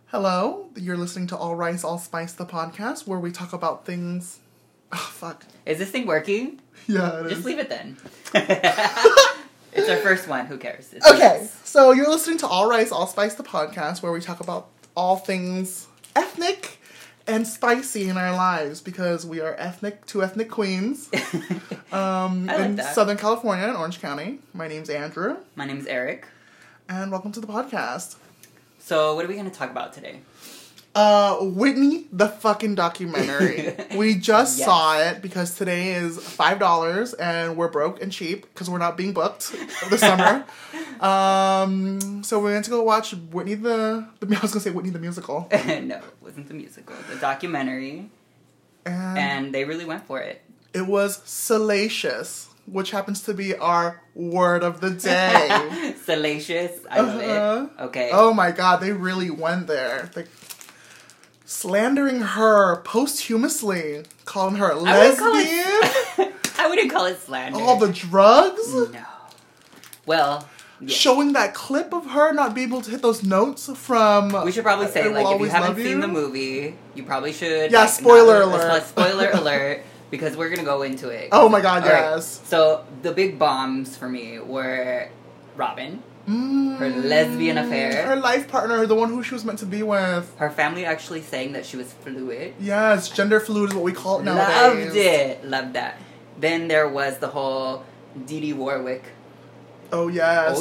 Hello, you're listening to All Rice, All Spice, the podcast, where we talk about things... Oh, fuck. Is this thing working? Yeah, it Just is. leave it then. It's our first one. Who cares? Okay, so you're listening to All Rice, All Spice, the podcast, where we talk about all things ethnic and spicy in our lives, because we are two ethnic queens in Southern California, in Orange County. My name's Andrew. My name's Eric. And welcome to the podcast. So, what are we going to talk about today? Whitney, the fucking documentary. We just saw it because today is $5 and we're broke and cheap because we're not being booked this summer. So we went to go watch Whitney I was going to say Whitney the musical. No, it wasn't the musical. The documentary. And they really went for it. It was salacious, which happens to be our word of the day. Salacious. I love it. Okay. Oh my god, they really went there. Slandering her posthumously, calling her a lesbian. I wouldn't call it slander. All the drugs. No. Well, yeah. Showing that clip of her not being able to hit those notes from... We should probably say, if you haven't seen the movie, you probably should... Yeah, spoiler alert. Spoiler alert, because we're going to go into it. Oh my god, yes. Right. So, the big bombs for me were Robin. Her lesbian affair. Her life partner, the one who she was meant to be with. Her family actually saying that she was fluid. Yes, gender fluid is what we call it nowadays. Loved it. Loved that. Then there was the whole Dee Dee Warwick. Oh, yes,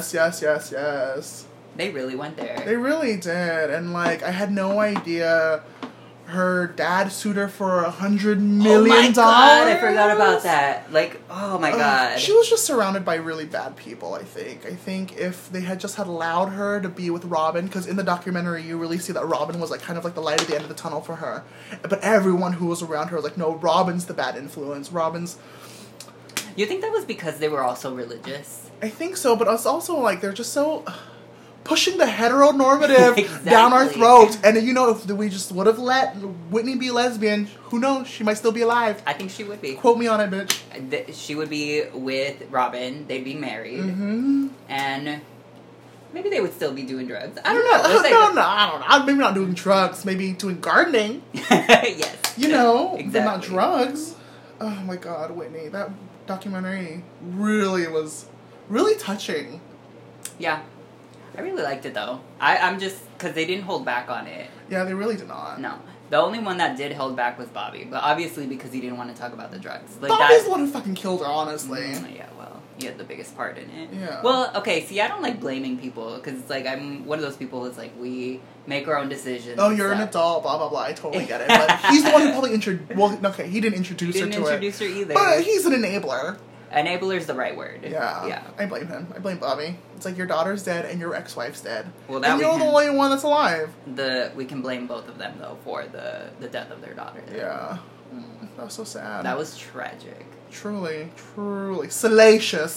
yes. They really went there. They really did. And, I had no idea her dad sued her for $100 million. Oh my god, I forgot about that. Oh my god. She was just surrounded by really bad people, I think. I think if they had just had allowed her to be with Robin, because in the documentary you really see that Robin was kind of the light at the end of the tunnel for her. But everyone who was around her was like, no, Robin's the bad influence. You think that was because they were also religious? I think so, but it's also they're just so... pushing the heteronormative exactly. down our throats. And, if we just would have let Whitney be lesbian, who knows? She might still be alive. I think she would be. Quote me on it, bitch. She would be with Robin. They'd be married. Mm-hmm. And maybe they would still be doing drugs. I don't know. No, I don't know. Maybe not doing drugs. Maybe doing gardening. Yes. Exactly. But not drugs. Oh, my God, Whitney. That documentary really was really touching. Yeah. I really liked it, though. I'm just... Because they didn't hold back on it. Yeah, they really did not. No. The only one that did hold back was Bobby. But obviously because he didn't want to talk about the drugs. Bobby's the one who fucking killed her, honestly. Yeah, well, he had the biggest part in it. Yeah. Well, okay, see, I don't like blaming people. Because it's I'm one of those people that's we make our own decisions. Oh, you're an adult, blah, blah, blah. I totally get it. But he's the one who probably introduced... Well, okay, he didn't introduce her to it. He didn't introduce her either. But he's an enabler. Enabler's the right word. Yeah. I blame him. I blame Bobby. It's your daughter's dead and your ex-wife's dead. Well, and you're the only one that's alive. We can blame both of them, though, for the death of their daughter. Yeah. That was so sad. That was tragic. Truly. Salacious.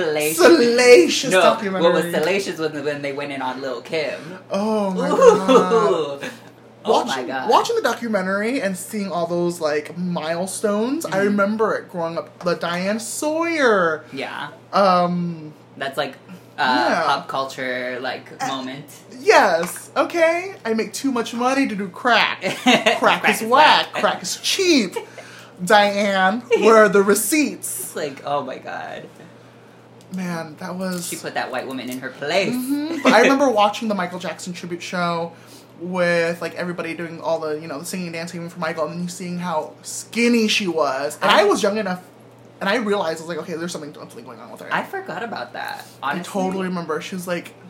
Salacious documentary. What was salacious was when they went in on Lil' Kim. Oh, my God. Oh my god. Watching the documentary and seeing all those, milestones, I remember it growing up. The Diane Sawyer. Yeah. That's, yeah. pop culture, moment. Yes. Okay? I make too much money to do crack. Crack is whack. Crack is cheap. Diane, where are the receipts? It's oh my god. Man, that was... She put that white woman in her place. Mm-hmm. But I remember watching the Michael Jackson tribute show with everybody doing all the the singing and dancing for Michael, and then you seeing how skinny she was. And I was young enough, and I realized I was okay, there's something going on with her. I forgot about that. Honestly. I totally remember. She was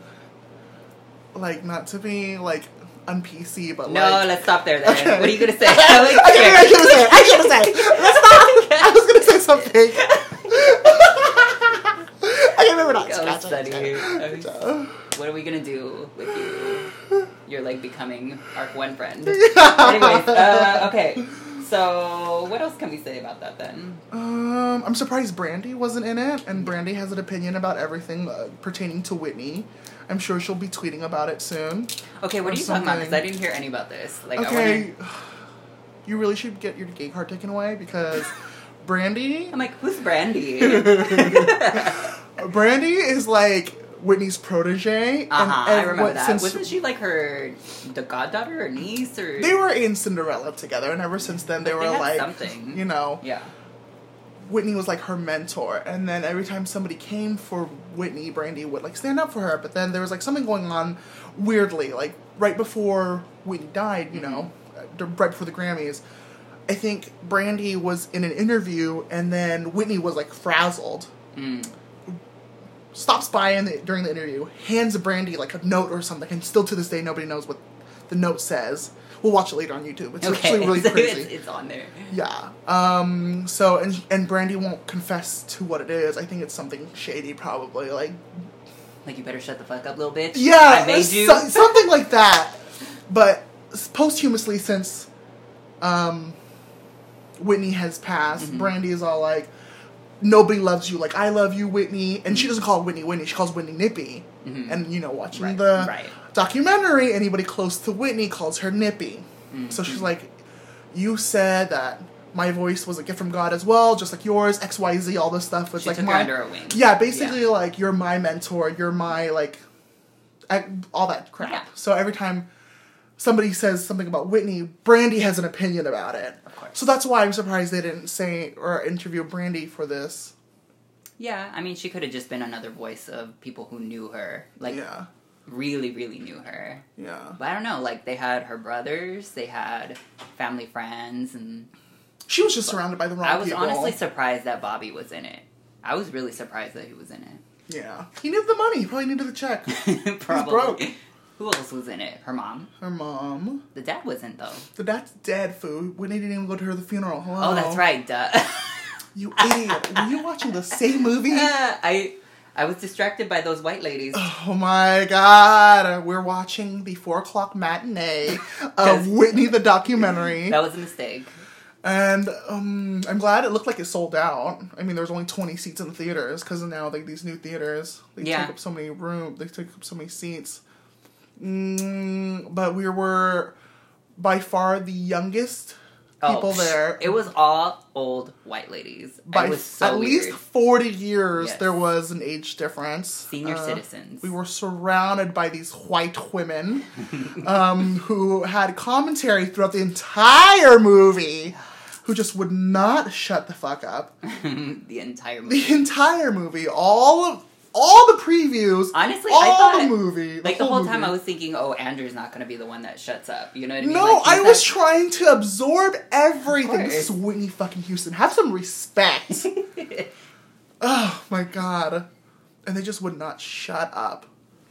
not to be un-PC, but no, let's stop there. Then okay. What are you gonna say? I should say. Let's stop. I was gonna say something. Okay, maybe not. What are we gonna do with you? You're becoming our one friend. Anyways, okay. So, what else can we say about that then? I'm surprised Brandy wasn't in it, and Brandy has an opinion about everything pertaining to Whitney. I'm sure she'll be tweeting about it soon. Okay, what are you talking about? Because I didn't hear any about this. Okay, you really should get your gay card taken away, because Brandy... I'm who's Brandy? Brandy is Whitney's protege. I remember that. Wasn't she like the goddaughter or niece or? They were in Cinderella together, and ever since then they were like something. You know. Yeah. Whitney was like her mentor, and then every time somebody came for Whitney, Brandy would like stand up for her. But then there was like something going on weirdly, like right before Whitney died, you know, right before the Grammys. I think Brandy was in an interview, and then Whitney was like frazzled. Stops by during the interview, hands Brandy like a note or something, and still to this day nobody knows what the note says. We'll watch it later on YouTube. It's actually really crazy. It's on there. Yeah. So and Brandy won't confess to what it is. I think it's something shady, probably like you better shut the fuck up, little bitch. Yeah, I made you. Something like that. But posthumously, since Whitney has passed, Brandy is all like, nobody loves you like I love you, Whitney. And she doesn't call Whitney Whitney. She calls Whitney Nippy. And, you know, watching the documentary, anybody close to Whitney calls her Nippy. So she's like, you said that my voice was a gift from God as well, just like yours, XYZ, all this stuff. It's she like took her under her wing. Yeah, basically, like, you're my mentor, you're my, like, all that crap. Yeah. So every time somebody says something about Whitney, Brandy has an opinion about it. Of course. So that's why I'm surprised they didn't say or interview Brandy for this. Yeah, I mean, she could have just been another voice of people who knew her. Like, really, really knew her. Yeah. But I don't know, like, they had her brothers, they had family friends, and... She was just surrounded by the wrong people. I was honestly surprised that Bobby was in it. I was really surprised that he was in it. Yeah. He needed the money. He probably needed the check. Probably. He's broke. Who else was in it? Her mom? Her mom. The dad wasn't, though. The dad's dead, food. Whitney didn't even go to the funeral. Hello. Oh, that's right. Duh. You idiot. Were you watching the same movie? I was distracted by those white ladies. Oh my god. We're watching the 4 o'clock matinee of Whitney the documentary. That was a mistake. And I'm glad it looked like it sold out. I mean, there was only 20 seats in the theaters because now like these new theaters, they take up so many rooms, they take up so many seats. But we were by far the youngest people there. It was all old white ladies. By it was so at weird. least 40 years, there was an age difference. Senior citizens. We were surrounded by these white women who had commentary throughout the entire movie. Who just would not shut the fuck up. The entire movie. The entire movie. All the previews. Honestly, I thought the movie. The whole time I was thinking, oh, Andrew's not going to be the one that shuts up. You know what I mean? No, I was trying to absorb everything. This is Whitney fucking Houston. Have some respect. Oh my god. And they just would not shut up.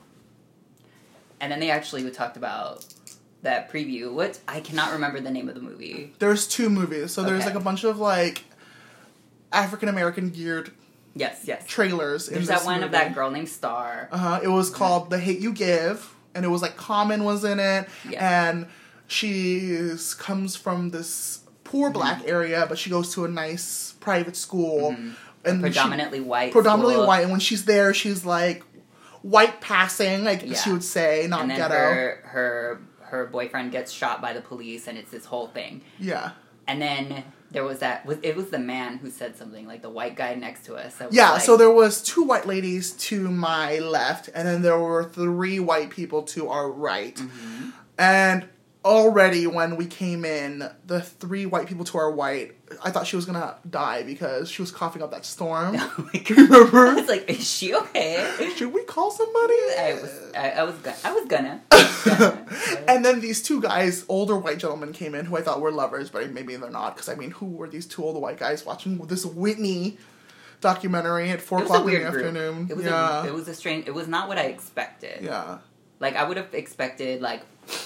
And then they actually talked about that preview. I cannot remember the name of the movie. There's 2 movies. So there's like a bunch of like African American geared trailers. There's that one of that girl named Star. It was called The Hate You Give, and it was like Common was in it, and she comes from this poor black area, but she goes to a nice private school, and predominantly white, white. And when she's there, she's like white passing, like she would say, not and then ghetto. Her boyfriend gets shot by the police, and it's this whole thing. Yeah. And then there was it was the man who said something, like the white guy next to us. So there was 2 white ladies to my left, and then there were 3 white people to our right. And already when we came in, the 3 white people to our right, I thought she was gonna die because she was coughing up that storm. Oh my God. Remember? I was like, is she okay? Should we call somebody? I was gonna. And then these 2 guys, older white gentlemen, came in who I thought were lovers, but maybe they're not. Because I mean, who were these 2 older white guys watching this Whitney documentary at 4 o'clock in the afternoon? It was a strange. It was not what I expected. Yeah. Like I would have expected like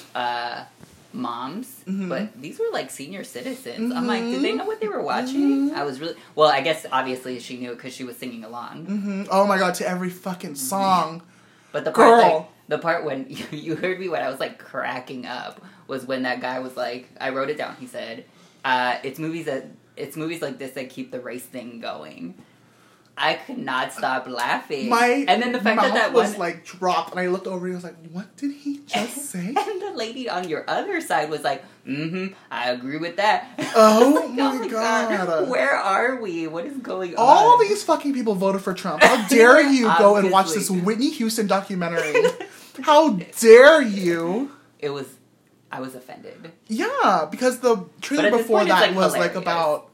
moms, but these were like senior citizens. I'm like, did they know what they were watching? I was really I guess obviously she knew because she was singing along. Oh my god, to every fucking song. But the part when you heard me when I was like cracking up was when that guy was like, I wrote it down. He said, "It's movies like this that keep the race thing going." I could not stop laughing. And then the fact that was one like dropped, and I looked over and I was like, "What did he just say?" And the lady on your other side was like, I agree with that. Oh, like, my God. Where are we? What is going on? All these fucking people voted for Trump. How dare you go and watch this Whitney Houston documentary? How dare you? I was offended. Yeah, because the trailer before point, that like, was hilarious. like about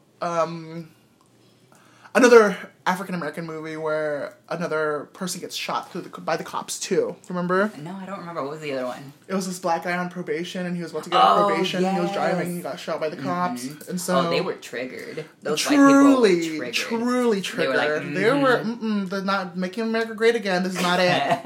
another African American movie where another person gets shot by the cops too. Remember? No, I don't remember. What was the other one? It was this black guy on probation, and he was about to get on probation. Yes. He was driving, and he got shot by the cops, and so they were triggered. Those truly, white people were triggered. truly triggered. They were they're not making America great again. This is not it.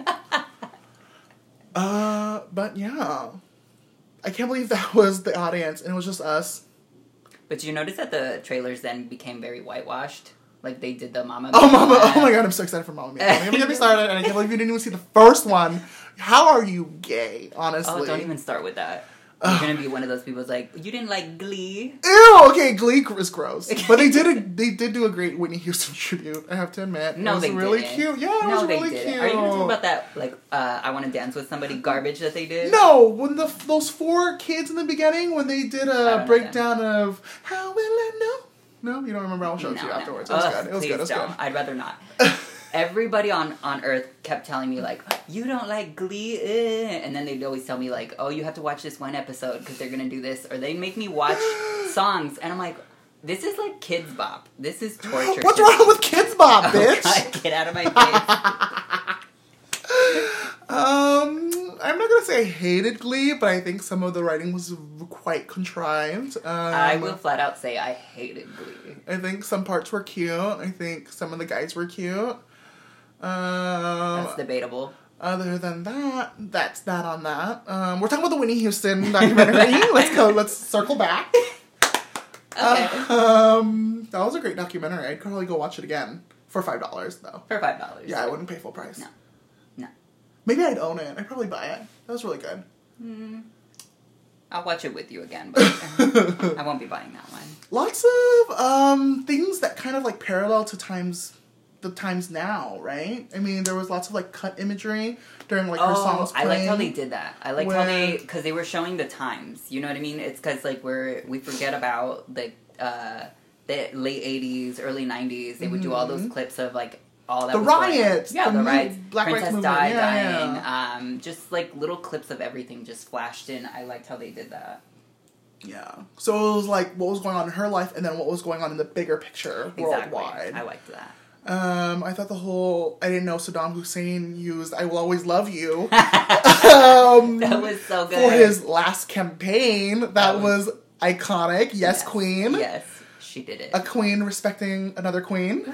But yeah, I can't believe that was the audience, and it was just us. But you notice that the trailers then became very whitewashed. Like they did the Mama. Oh, Mama! Oh my God, I'm so excited for Mama Mia. Don't even get me started, and I can't believe you didn't even see the first one. How are you gay? Honestly. Oh, don't even start with that. You're gonna be one of those people who's like, you didn't like Glee. Ew. Okay, Glee is gross, but they did do a great Whitney Houston tribute. I have to admit. No, it was they really didn't. cute. Yeah, it was really cute. Are you talking about that? Like, I Want to Dance with Somebody garbage that they did? No, when those 4 kids in the beginning when they did a breakdown of How Will I Know? No, you don't remember? I'll show it to you afterwards. It was good. It was good. It was good. I'd rather not. Everybody on Earth kept telling me, like, you don't like Glee, and then they'd always tell me, like, oh, you have to watch this one episode because they're going to do this, or they make me watch songs, and I'm like, this is like Kids Bop. This is torture. What's wrong with Kids Bop, bitch? God, get out of my face. I'm not gonna say I hated Glee, but I think some of the writing was quite contrived. I will flat out say I hated Glee. I think some parts were cute. I think some of the guys were cute. That's debatable. Other than that, that's that on that. We're talking about the Whitney Houston documentary. Let's circle back. Okay. That was a great documentary. I'd probably go watch it again. For $5, though. For $5. Yeah, I wouldn't pay full price. No. Maybe I'd own it. I'd probably buy it. That was really good. I'll watch it with you again, but I won't be buying that one. Lots of things that kind of like parallel to the times now, right? I mean, there was lots of like cut imagery during like her songs playing. I liked how they did that. I liked how because they were showing the times. You know what I mean? It's because like we forget about the late 80s, early 90s. They would do all those clips of like all that the was riots, the riots, Black Princess Rights Di Movement. dying, just like little clips of everything just flashed in. I liked how they did that. Yeah. So it was like what was going on in her life, and then what was going on in the bigger picture worldwide. I liked that. I thought I didn't know Saddam Hussein used "I Will Always Love You." That was so good for his last campaign. That was iconic. Yes, queen. Yes, she did it. A queen respecting another queen.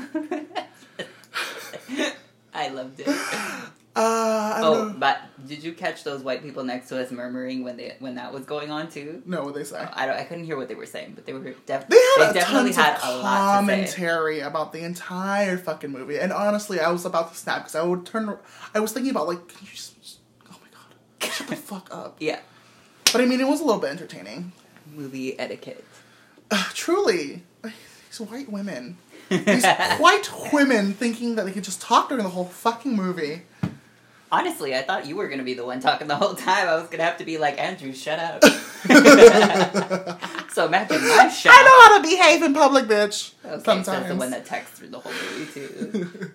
I loved it. I don't know. But did you catch those white people next to us murmuring when that was going on too? No, what they say? I couldn't hear what they were saying, but they had definitely had a lot to say. commentary about the entire fucking movie. And honestly, I was about to snap because I was thinking about like, can you just oh my God, shut the fuck up. Yeah. But I mean, it was a little bit entertaining. Movie etiquette. Truly, these white women. These white women thinking that they could just talk during the whole fucking movie. Honestly, I thought you were going to be the one talking the whole time. I was going to have to be like, Andrew, shut up. So imagine my shut I know how to behave in public, bitch. Okay, sometimes. So the one that texts through the whole movie, too.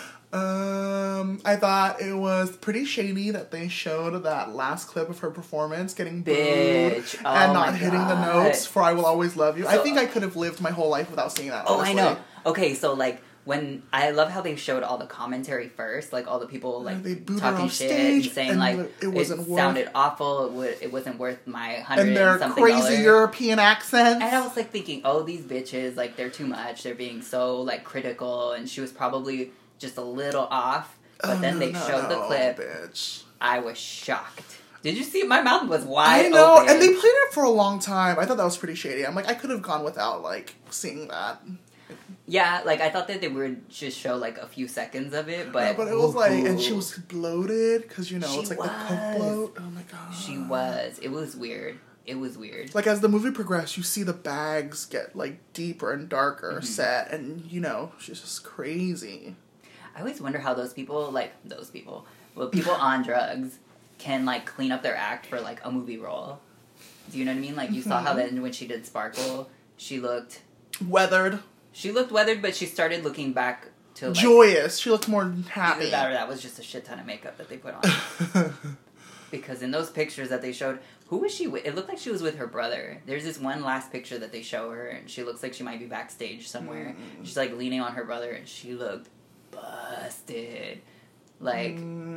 I thought it was pretty shady that they showed that last clip of her performance getting booed and not hitting the notes for "I Will Always Love You." So, I think I could have lived my whole life without seeing that. Honestly. I know. Okay, so like when I love how they showed all the commentary first, like all the people like talking shit and saying like it sounded awful. It wasn't worth my $100 and their something crazy European accents. And I was like thinking, oh, these bitches, like they're too much. They're being so like critical, and she was probably just a little off, but then they showed the clip. Bitch. I was shocked. Did you see? My mouth was wide open. I know, and they played it for a long time. I thought that was pretty shady. I'm like, I could have gone without, like, seeing that. Yeah, like, I thought that they would just show, like, a few seconds of it, but... Yeah, but it was like, and she was bloated, because, you know, it's like was. the coke bloat. Oh my God. She was. It was weird. It was weird. Like, as the movie progressed, you see the bags get, like, deeper and darker set, and, you know, she's just crazy. I always wonder how people on drugs can, like, clean up their act for, like, a movie role. Do you know what I mean? Like, you saw how then when she did Sparkle, she looked... Weathered. She looked weathered, but she started looking back to, like... Joyous. She looked more happy. Either that or that was just a shit ton of makeup that they put on. Because in those pictures that they showed, who was she with? It looked like she was with her brother. There's this one last picture that they show her, and she looks like she might be backstage somewhere. She's, like, leaning on her brother, and she looked busted. Like,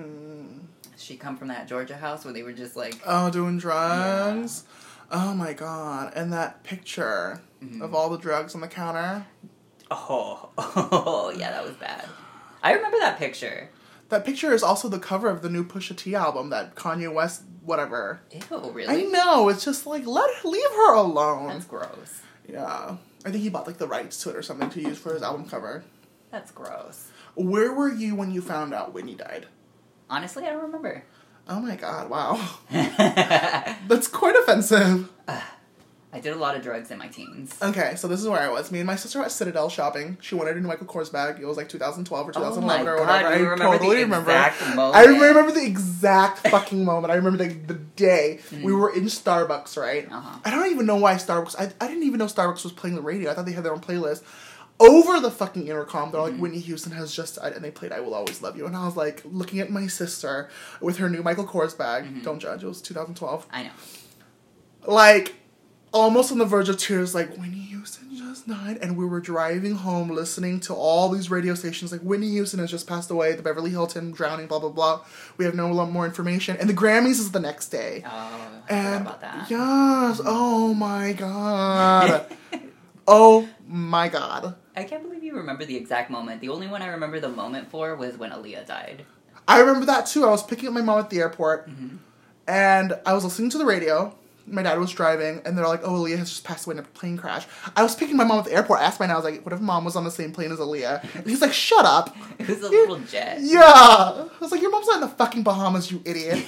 she come from that Georgia house where they were just, like... Oh, doing drugs? Yeah. Oh, my God. And that picture of all the drugs on the counter. Oh, yeah, that was bad. I remember that picture. That picture is also the cover of the new Pusha T album, that Kanye West, whatever. Ew, really? I know, it's just like, leave her alone. That's gross. Yeah. I think he bought, like, the rights to it or something to use for his album cover. That's gross. Where were you when you found out Whitney died? Honestly, I don't remember. Oh my God, wow. That's quite offensive. I did a lot of drugs in my teens. Okay, so this is where I was. Me and my sister were at Citadel shopping. She wanted a new Michael Kors bag. It was like 2012 or 2011 or whatever. Do you remember the exact moment? I remember the exact fucking moment. I remember the day. We were in Starbucks, right? I don't even know why Starbucks... I didn't even know Starbucks was playing the radio. I thought they had their own playlist. Over the fucking intercom, they're like, Whitney Houston has just died, and they played I Will Always Love You. And I was like, looking at my sister with her new Michael Kors bag. Don't judge, it was 2012. I know. Like... almost on the verge of tears, like, Whitney Houston just died, and we were driving home listening to all these radio stations, like, Whitney Houston has just passed away, the Beverly Hilton drowning, blah, blah, blah. We have no more information. And the Grammys is the next day. Oh, I forgot about that. Yes, oh my God. Oh my God. I can't believe you remember the exact moment. The only one I remember the moment for was when Aaliyah died. I remember that too. I was picking up my mom at the airport, and I was listening to the radio. My dad was driving, and they're like, oh, Aaliyah has just passed away in a plane crash. I was picking my mom at the airport. I asked my dad, I was like, what if mom was on the same plane as Aaliyah? And he's like, shut up. It was a little jet. Yeah. I was like, your mom's not in the fucking Bahamas, you idiot.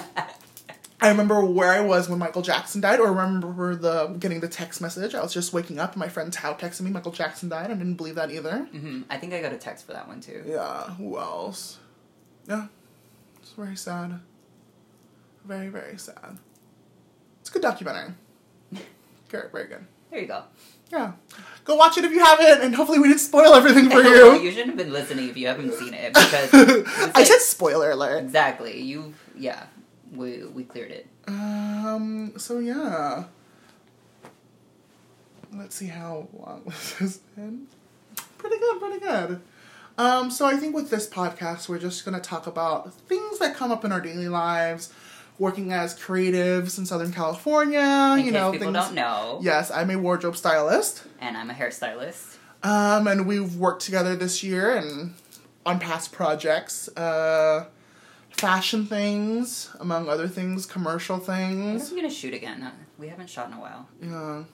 I remember where I was when Michael Jackson died, or I remember getting the text message. I was just waking up, and my friend Tao texted me Michael Jackson died. I didn't believe that either. I think I got a text for that one, too. Yeah, who else? Yeah. It's very sad. Very, very sad. It's a good documentary. Very, very good. There you go. Yeah. Go watch it if you haven't, and hopefully we didn't spoil everything for you. Well, you shouldn't have been listening if you haven't seen it, because... I said spoiler alert. Exactly. We cleared it. So yeah. Let's see how long this has been. Pretty good. So I think with this podcast, we're just going to talk about things that come up in our daily lives, working as creatives in Southern California, in case people don't know. Yes, I'm a wardrobe stylist. And I'm a hairstylist. And we've worked together this year and on past projects, fashion things, among other things, commercial things. When are we gonna shoot again? We haven't shot in a while. Yeah.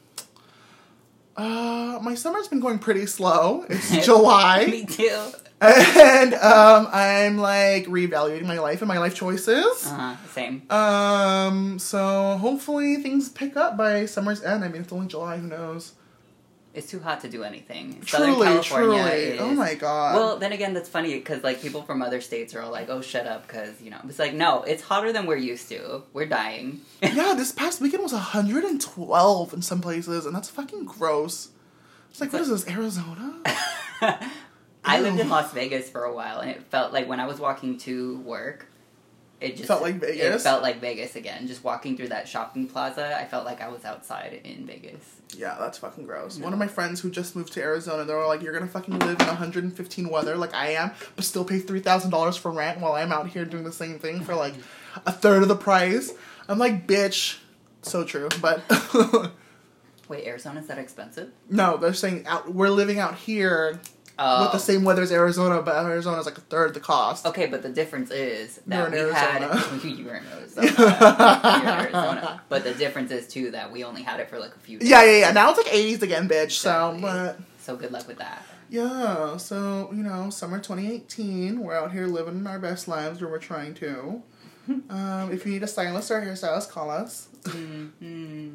My summer's been going pretty slow. It's July. Me too. And I'm like reevaluating my life and my life choices. Same. So hopefully things pick up by summer's end. I mean, it's only July. Who knows? It's too hot to do anything. Truly, Southern California is... Oh my God. Well, then again, that's funny because like people from other states are all like, "Oh, shut up," because you know it's like, no, it's hotter than we're used to. We're dying. Yeah, this past weekend was 112 in some places, and that's fucking gross. It's like, what is this, Arizona? I lived in Las Vegas for a while, and it felt like when I was walking to work, it just felt like Vegas. It felt like Vegas again. Just walking through that shopping plaza, I felt like I was outside in Vegas. Yeah, that's fucking gross. No. One of my friends who just moved to Arizona, they were like, you're gonna fucking live in 115 weather like I am, but still pay $3,000 for rent while I'm out here doing the same thing for like a third of the price. I'm like, bitch. So true, but... Wait, Arizona's that expensive? No, they're saying we're living out here with the same weather as Arizona, but Arizona's like a third the cost. Okay, but the difference is that you were in Arizona. you were in Arizona. You're in Arizona. But the difference is, too, that we only had it for like a few days. Yeah. Now it's like 80s again, bitch. Exactly. So good luck with that. Yeah, so, you know, summer 2018, we're out here living our best lives, or we're trying to. If you need a stylist or a hairstylist, call us.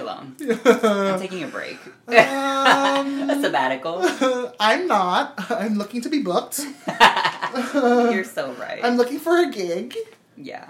alone. I'm taking a break. A sabbatical. I'm not. I'm looking to be booked. You're so right. I'm looking for a gig. Yeah.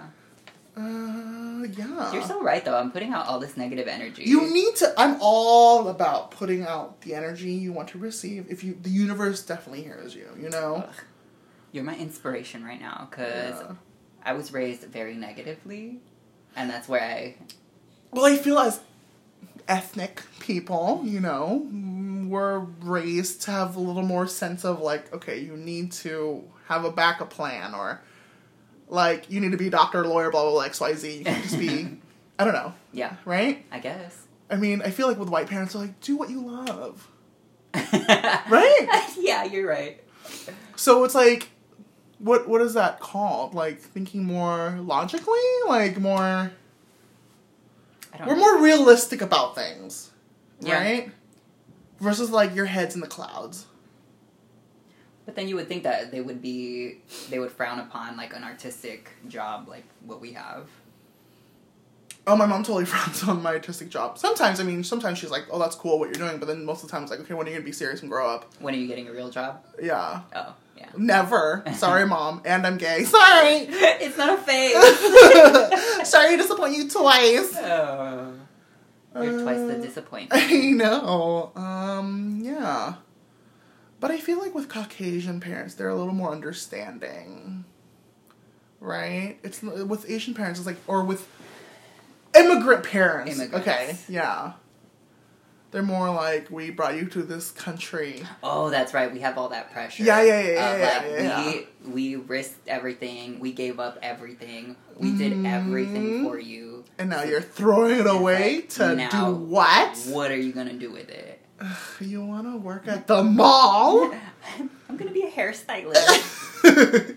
Yeah. You're so right, though. I'm putting out all this negative energy. You need to. I'm all about putting out the energy you want to receive. The universe definitely hears you. You know. Ugh. You're my inspiration right now, because I was raised very negatively, and that's where Well, I feel as ethnic people, you know, we're raised to have a little more sense of like, okay, you need to have a backup plan, or like you need to be a doctor, lawyer, blah blah blah, XYZ. You can't just be, I don't know. Yeah. Right? I guess. I mean, I feel like with white parents, they're like, do what you love. Right? Yeah, you're right. So it's like, what is that called? Like thinking more logically, like more. We're more realistic about things, right? Versus like your head's in the clouds. But then you would think that they would frown upon like an artistic job like what we have. Oh, my mom totally frowns on my artistic job. Sometimes she's like, oh, that's cool what you're doing, but then most of the time it's like, okay, when are you gonna be serious and grow up? When are you getting a real job? Yeah. Oh, yeah. Never. Sorry, Mom. And I'm gay. Sorry! It's not a phase. Sorry to disappoint you twice. Oh. You're twice the disappointment. I know. Yeah. But I feel like with Caucasian parents, they're a little more understanding. Right? It's with Asian parents, it's like, or with immigrant parents. Immigrants. Okay, yeah. They're more like, we brought you to this country. Oh, that's right. We have all that pressure. Yeah. We risked everything. We gave up everything. We did everything for you. And now you're throwing it away to do what? What are you going to do with it? You want to work at the mall? I'm going to be a hairstylist.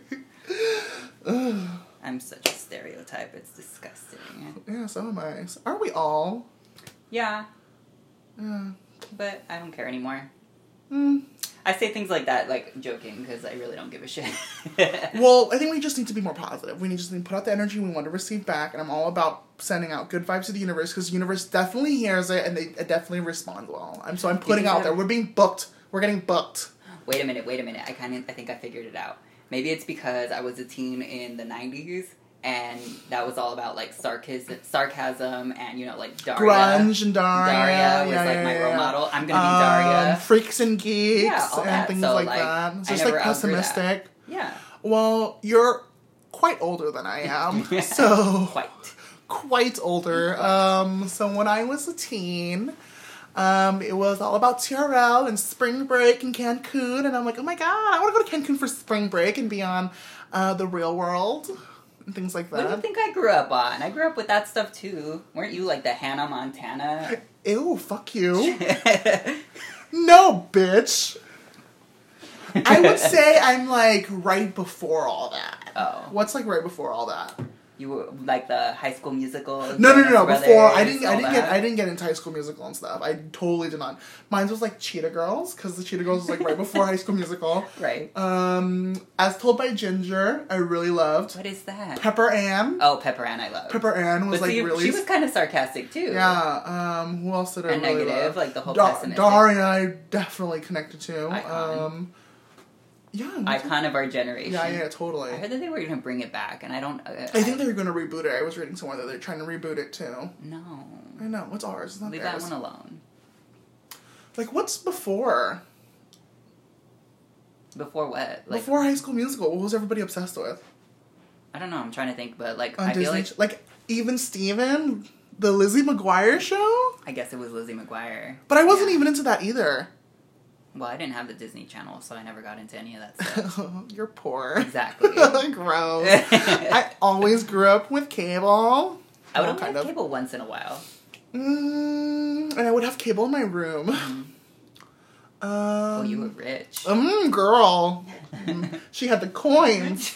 I'm such a stereotype. It's disgusting. Yeah, so am I. Aren't we all? Yeah. Yeah. But I don't care anymore. Mm. I say things like that, like, joking, because I really don't give a shit. Well, I think we just need to be more positive. We just need to put out the energy we want to receive back, and I'm all about sending out good vibes to the universe, because the universe definitely hears it, and it definitely responds well. I'm putting out there. We're being booked. We're getting booked. Wait a minute. I think I figured it out. Maybe it's because I was a teen in the 90s, and that was all about, like, sarcasm and, you know, like, Daria. Grunge and Daria. Daria was, my role model. I'm gonna be Daria. Freaks and Geeks all and that. things so, like that. It's just, like, pessimistic. Yeah. Well, you're quite older than I am. So quite older. So when I was a teen, it was all about TRL and spring break in Cancun, and I'm like, oh my god, I want to go to Cancun for spring break and be on The Real World and things like that. What do you think I grew up on? I grew up with that stuff too. Weren't you like the Hannah Montana? Ew, fuck you. No, bitch. I would say I'm like right before all that. Oh. What's like right before all that? You were like the High School Musical. No. Before I didn't get into High School Musical and stuff. I totally did not. Mine was like Cheetah Girls, because the Cheetah Girls was like right before High School Musical. Right. As Told by Ginger, I really loved. What is that? Pepper Ann. Oh, Pepper Ann, I loved. Pepper Ann was really. She was kind of sarcastic too. Yeah. Who else did I and really negative, love? like the whole pessimistic. Daria, I definitely connected to. Icon. Yeah. Icon of our generation. Yeah, totally. I heard that they were going to bring it back, and I don't... I think they were going to reboot it. I was reading somewhere that they're trying to reboot it, too. No. I know. What's ours? It's not Leave theirs. that one alone. Like, what's before? Before what? Like, before High School Musical, what was everybody obsessed with? I don't know. I'm trying to think, but, like, On I Disney, feel like... Even Steven? The Lizzie McGuire show? I guess it was Lizzie McGuire. But I wasn't even into that either. Well, I didn't have the Disney Channel, so I never got into any of that stuff. You're poor. Exactly. Gross. I always grew up with cable. I would only have cable once in a while. And I would have cable in my room. Oh, you were rich. Girl. She had the coins.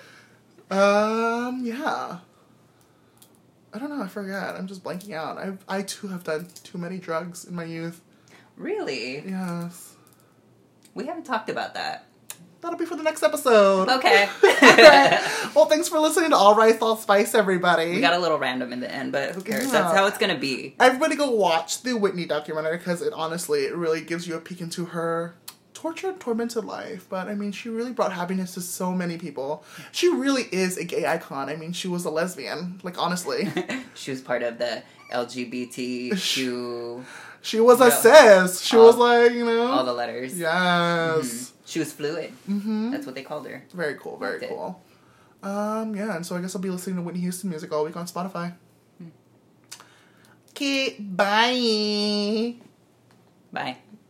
Yeah. I don't know, I forgot. I'm just blanking out. I too have done too many drugs in my youth. Really? Yes. We haven't talked about that. that'll be for the next episode. Okay. Well, thanks for listening to All Rice, All Spice, everybody. We got a little random in the end, but who cares? Yeah. That's how it's gonna be. Everybody go watch the Whitney documentary because it really gives you a peek into her tortured, tormented life. But, I mean, she really brought happiness to so many people. She really is a gay icon. I mean, she was a lesbian. Like, honestly. She was part of the LGBTQ... She was a cis. She was like, you know. All the letters. Yes. Mm-hmm. She was fluid. Mm-hmm. That's what they called her. Very cool, very cool. Yeah, and so I guess I'll be listening to Whitney Houston music all week on Spotify. Okay, bye. Bye.